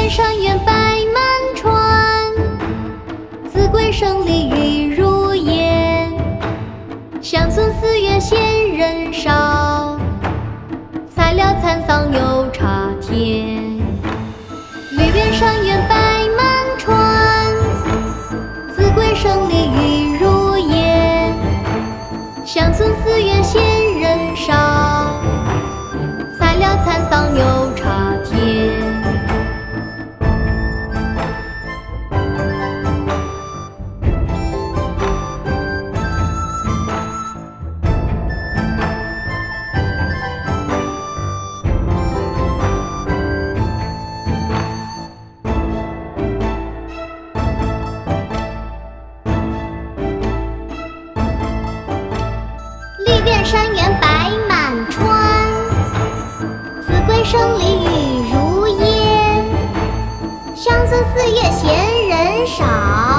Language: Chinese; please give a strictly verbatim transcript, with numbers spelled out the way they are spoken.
山原白满川，子规声里玉如烟。乡村寺院闲人少，菜鸟蚕桑有茶田。绿遍山原白满川，子规声里玉如烟。乡村寺院闲人少，菜鸟蚕桑有茶田。绿遍山原白满川，子规声里玉如烟。乡村寺院闲人少。